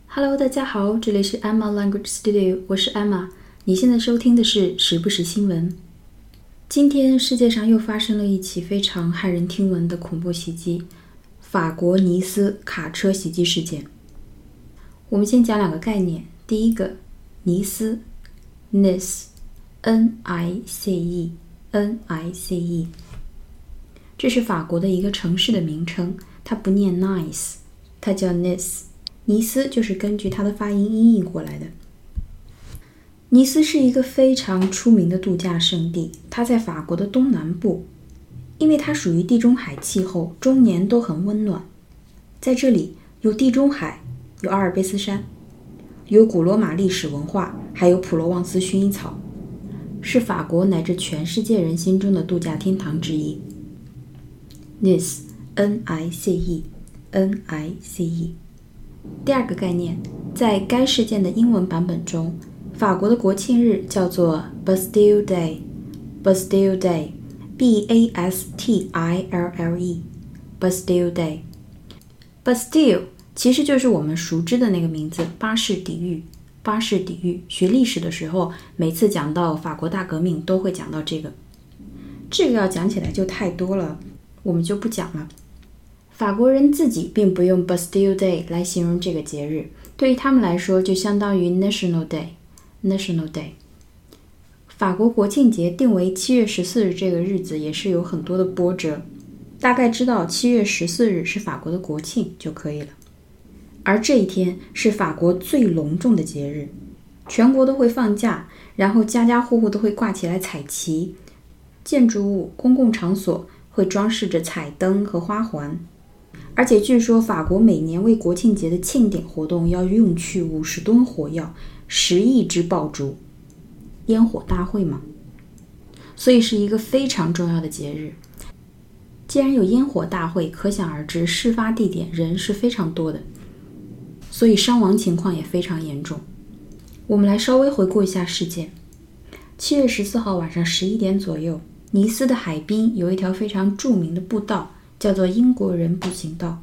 Hello， 大家好，这里是 Emma Language Studio， 我是 Emma。你现在收听的是时不时新闻。今天世界上又发生了一起非常骇人听闻的恐怖袭击——法国尼斯卡车袭击事件。我们先讲两个概念。第一个，尼斯 Nice N-I-C-E， 这是法国的一个城市的名称，它不念 nice， 它叫 Nice。尼斯就是根据它的发音音译过来的。尼斯是一个非常出名的度假胜地，它在法国的东南部，因为它属于地中海气候，终年都很温暖。在这里有地中海，有阿尔卑斯山，有古罗马历史文化，还有普罗旺斯薰衣草，是法国乃至全世界人心中的度假天堂之一。Nice N-I-C-E。第二个概念，在该事件的英文版本中，法国的国庆日叫做 Bastille Day，Bastille Day， B-A-S-T-I-L-L-E， Bastille Day。 Bastille 其实就是我们熟知的那个名字，巴士底狱。巴士底狱，学历史的时候，每次讲到法国大革命都会讲到这个。这个要讲起来就太多了，我们就不讲了。法国人自己并不用 Bastille Day 来形容这个节日，对于他们来说就相当于 National Day。 法国国庆节定为7月14日这个日子也是有很多的波折，大概知道7月14日是法国的国庆就可以了。而这一天是法国最隆重的节日，全国都会放假，然后家家户户都会挂起来彩旗，建筑物、公共场所会装饰着彩灯和花环。而且据说法国每年为国庆节的庆典活动要用去50吨火药，10亿支爆竹，烟火大会嘛。所以是一个非常重要的节日。既然有烟火大会，可想而知事发地点人是非常多的，所以伤亡情况也非常严重。我们来稍微回顾一下事件。7月14号晚上11点左右，尼斯的海滨有一条非常著名的步道，叫做英国人步行道。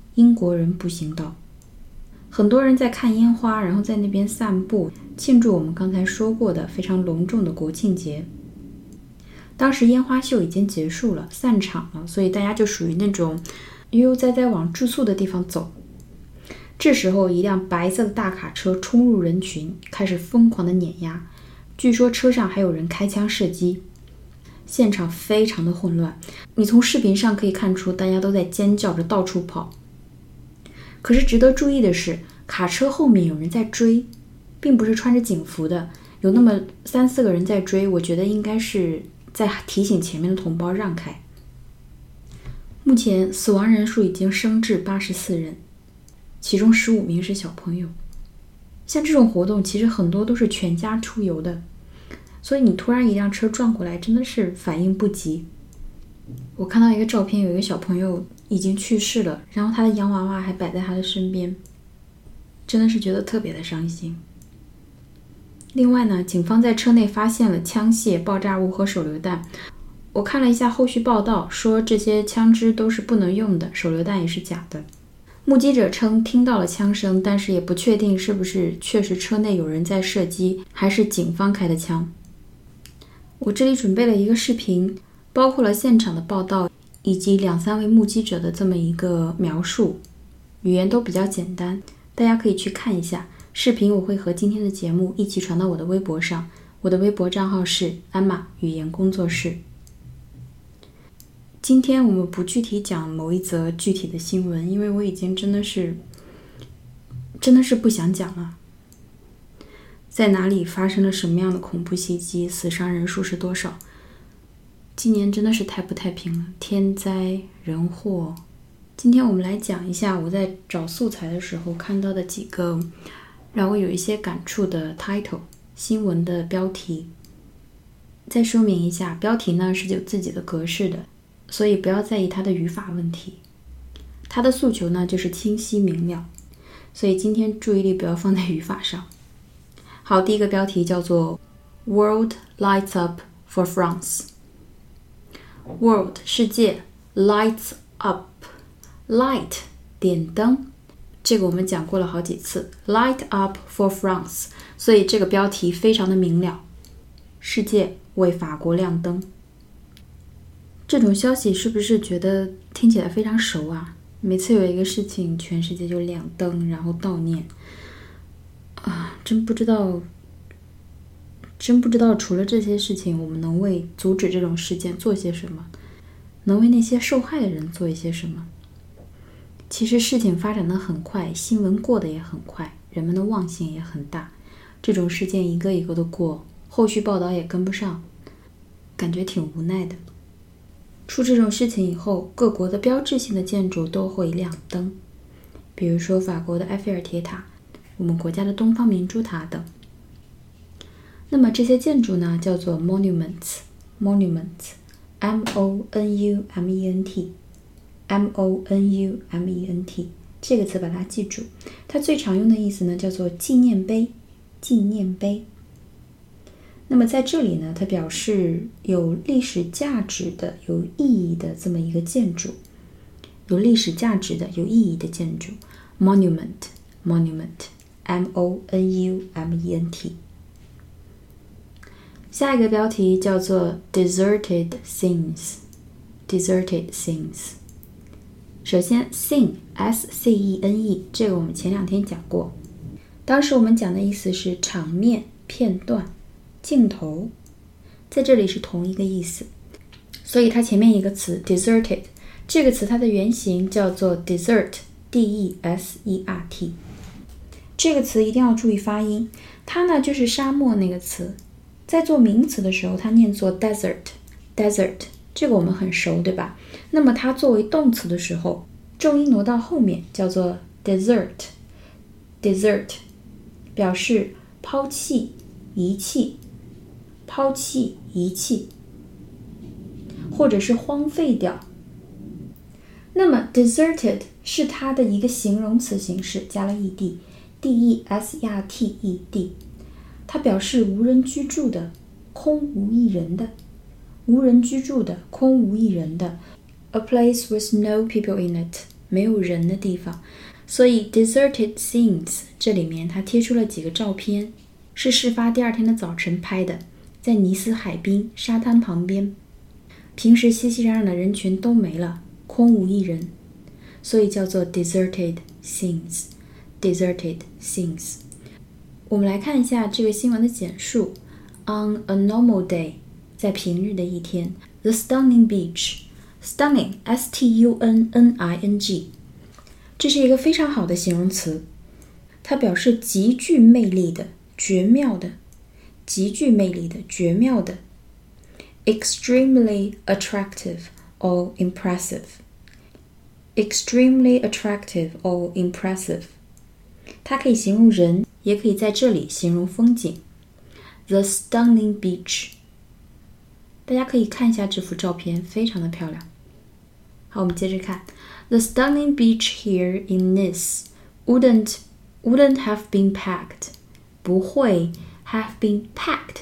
很多人在看烟花，然后在那边散步，庆祝我们刚才说过的非常隆重的国庆节。当时烟花秀已经结束了，散场了，所以大家就属于那种悠悠哉哉往住宿的地方走。这时候一辆白色的大卡车冲入人群，开始疯狂的碾压，据说车上还有人开枪射击，现场非常的混乱。你从视频上可以看出大家都在尖叫着到处跑。可是值得注意的是，卡车后面有人在追，并不是穿着警服的，有那么3-4个人在追，我觉得应该是在提醒前面的同胞让开。目前死亡人数已经升至84人，其中15名是小朋友。像这种活动其实很多都是全家出游的，所以你突然一辆车撞过来，真的是反应不及。我看到一个照片，有一个小朋友已经去世了，然后他的洋娃娃还摆在他的身边，真的是觉得特别的伤心。另外呢，警方在车内发现了枪械、爆炸物和手榴弹。我看了一下后续报道，说这些枪支都是不能用的，手榴弹也是假的。目击者称听到了枪声，但是也不确定是不是确实车内有人在射击，还是警方开的枪。我这里准备了一个视频，包括了现场的报道以及2-3位目击者的这么一个描述，语言都比较简单，大家可以去看一下。视频我会和今天的节目一起传到我的微博上，我的微博账号是 Emma 语言工作室。今天我们不具体讲某一则具体的新闻，因为我已经真的是不想讲了。在哪里发生了什么样的恐怖袭击，死伤人数是多少，今年真的是太不太平了，天灾人祸。今天我们来讲一下我在找素材的时候看到的几个让我有一些感触的 title 新闻的标题。再说明一下，标题呢是有自己的格式的，所以不要在意它的语法问题。它的诉求呢就是清晰明了，所以今天注意力不要放在语法上。好，第一个标题叫做 World Lights Up for France。 World 世界， Lights Up， Light 点灯， 这个我们讲过了好几次 Light up for France， 所以这个标题非常的明了，世界为法国亮灯。这种消息是不是觉得听起来非常熟啊？每次有一个事情全世界就亮灯然后悼念啊，真不知道除了这些事情我们能为阻止这种事件做些什么，能为那些受害的人做一些什么。其实事情发展得很快，新闻过得也很快，人们的忘性也很大，这种事件一个一个的过，后续报道也跟不上，感觉挺无奈的。出这种事情以后，各国的标志性的建筑都会亮灯，比如说法国的埃菲尔铁塔，我们国家的东方明珠塔等。那么这些建筑呢，叫做 monuments M-O-N-U-M-E-N-T 这个词把它记住，它最常用的意思呢叫做纪念碑。那么在这里呢，它表示有历史价值的、有意义的这么一个建筑，有历史价值的、有意义的建筑 monument M-O-N-U-M-E-N-T。 下一个标题叫做 deserted scenes。首先 scene S-C-E-N-E 这个我们前2天讲过，当时我们讲的意思是场面、片段、镜头，在这里是同一个意思，所以它前面一个词 deserted 这个词它的原型叫做 desert D-E-S-E-R-T， 这个词一定要注意发音，它呢就是沙漠那个词，在做名词的时候它念作 desert， 这个我们很熟对吧？那么它作为动词的时候，重音挪到后面叫做 desert， 表示抛弃、遗弃，或者是荒废掉。那么 deserted 是它的一个形容词形式，加了 ed D-E-S-E-R-T-E-D， 它表示无人居住的、空无一人的。A place with no people in it， 没有人的地方。所以 deserted scenes 这里面它贴出了几个照片，是事发第2天的早晨拍的，在尼斯海滨沙滩旁边，平时熙熙攘攘的人群都没了，空无一人，所以叫做 deserted scenes。 我们来看一下这个新闻的简述。 On a normal day， 在平日的一天， The stunning beach， stunning S-T-U-N-N-I-N-G， 这是一个非常好的形容词，它表示极具魅力的、绝妙的。Extremely attractive or impressive， 它可以形容人，也可以在这里形容风景。 The stunning beach， 大家可以看一下这幅照片，非常的漂亮。好，我们接着看。 The stunning beach here in Nice wouldn't have been packed， 不会 have been packed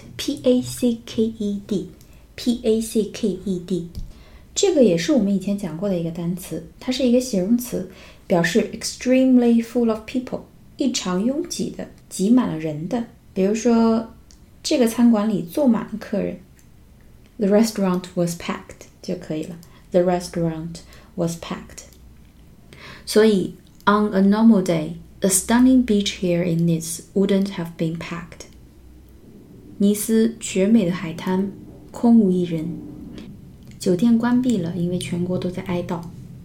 P-A-C-K-E-D， 这个也是我们以前讲过的一个单词，它是一个形容词，表示 extremely full of people， 异常拥挤的，挤满了人的。比如说这个餐馆里坐满了客人， The restaurant was packed 就可以了。 The restaurant was packed。 所以 On a normal day， the stunning beach here in Nice wouldn't have been packed。 尼斯绝美的海滩空无一人，酒店关闭了，因为全国都在哀悼。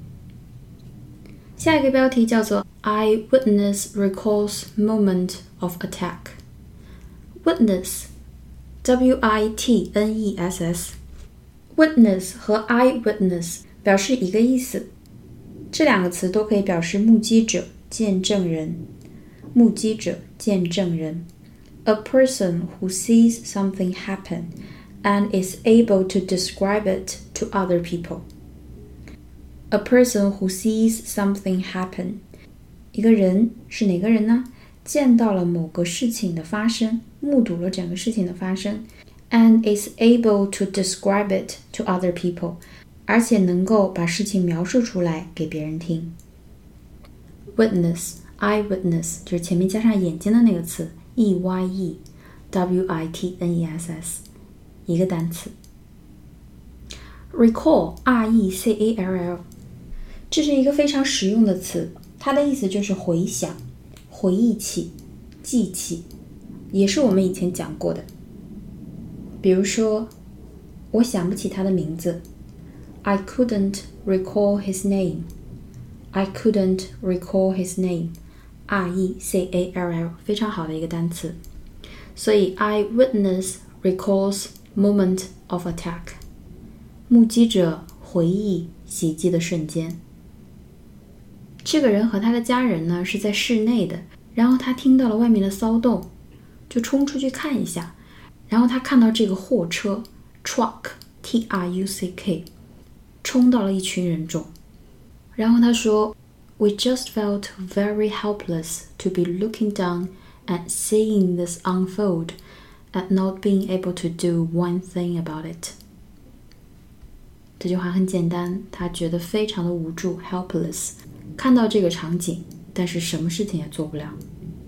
下一个标题叫做 Eyewitness recalls moment of attack。 Witness W-I-T-N-E-S-S， Witness 和 Eyewitness 表示一个意思，这2个词都可以表示目击者、见证人。A person who sees something happen and is able to describe it to other people。 A person who sees something happen， 一个人是哪个人呢？见到了某个事情的发生，目睹了整个事情的发生， and is able to describe it to other people， 而且能够把事情描述出来给别人听。Witness eyewitness 就是前面加上眼睛的那个词 eyewitness 一个单词。recall recall 这是一个非常实用的词，它的意思就是回想、回忆起、记起，也是我们以前讲过的。比如说，我想不起他的名字 I couldn't recall his name. I couldn't recall his name. recall 非常好的一个单词。所以 eyewitness recalls moment of attack. 目击者回忆袭击的瞬间。这个人和他的家人呢是在室内的，然后他听到了外面的骚动，就冲出去看一下，然后他看到这个货车 truck truck 冲到了一群人中，然后他说 We just felt very helpless to be looking down and seeing this unfold and not being able to do one thing about it. 这句话很简单，他觉得非常的无助 helpless， 看到这个场景，但是什么事情也做不了。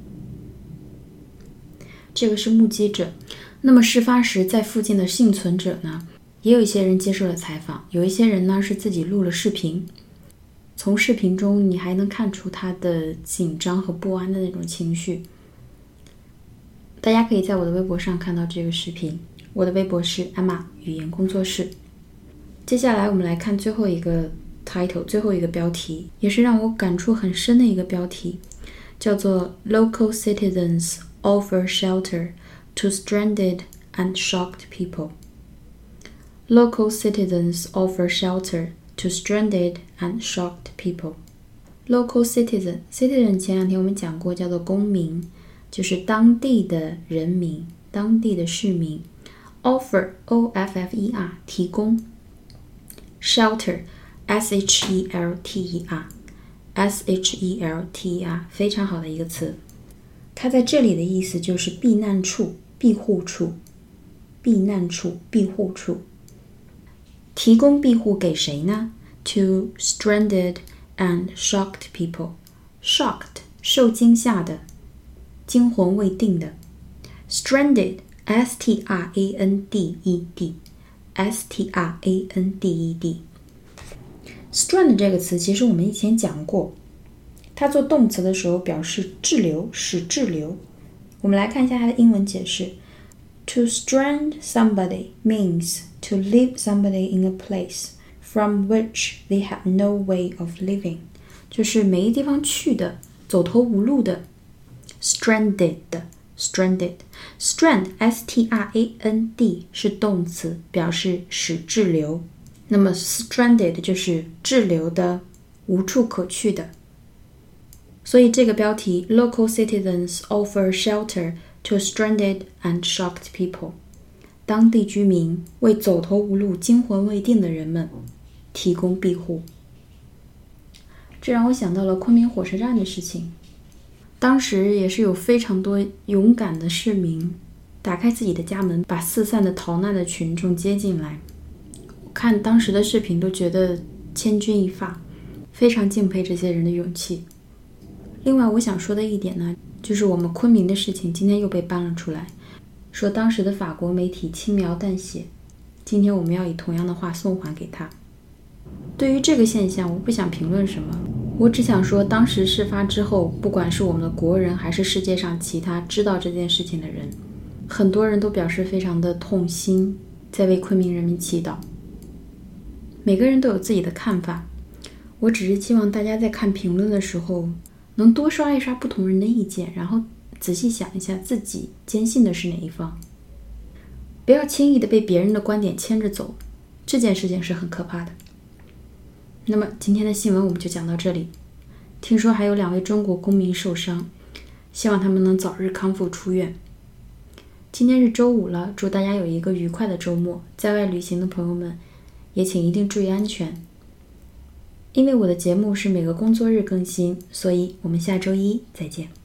这个是目击者。那么事发时在附近的幸存者呢，也有一些人接受了采访，有一些人呢是自己录了视频，从视频中你还能看出他的紧张和不安的那种情绪。大家可以在我的微博上看到这个视频，我的微博是 Emma 语言工作室。接下来我们来看最后一个 title， 最后一个标题，也是让我感触很深的一个标题，叫做 Local Citizens Offer Shelter to Stranded and Shocked People. Local citizens offer shelter to stranded and shocked people. Local citizen 前两天我们讲过叫做公民，就是当地的人民，当地的市民。Offer offer 提供。Shelter shelter 非常好的一个词，它在这里的意思就是避难处、庇护处、避难处、庇护处。提供庇护给谁呢？ To stranded and shocked people. Shocked 受惊吓的，惊魂未定的。Stranded stranded Strand 这个词其实我们以前讲过，它做动词的时候表示滞留，使滞留。我们来看一下它的英文解释。To strand somebody means to leave somebody in a place from which they have no way of living. 就是没地方去的，走投无路的。Stranded Strand strand 是动词，表示使滞留。那么 stranded 就是滞留的，无处可去的。所以这个标题 Local citizens offer shelter to stranded and shocked people. 当地居民为走投无路、惊魂未定的人们提供庇护。这让我想到了昆明火车站的事情。当时也是有非常多勇敢的市民打开自己的家门，把四散的逃难的群众接进来。看当时的视频都觉得千钧一发，非常敬佩这些人的勇气。另外我想说的一点呢，就是我们昆明的事情今天又被搬了出来，说当时的法国媒体轻描淡写，今天我们要以同样的话送还给他。对于这个现象我不想评论什么，我只想说当时事发之后，不管是我们的国人还是世界上其他知道这件事情的人，很多人都表示非常的痛心，在为昆明人民祈祷。每个人都有自己的看法，我只是希望大家在看评论的时候能多刷一刷不同人的意见，然后仔细想一下自己坚信的是哪一方，不要轻易的被别人的观点牵着走，这件事情是很可怕的。那么今天的新闻我们就讲到这里。听说还有2位中国公民受伤，希望他们能早日康复出院。今天是周五了，祝大家有一个愉快的周末，在外旅行的朋友们也请一定注意安全。因为我的节目是每个工作日更新，所以我们下周一再见。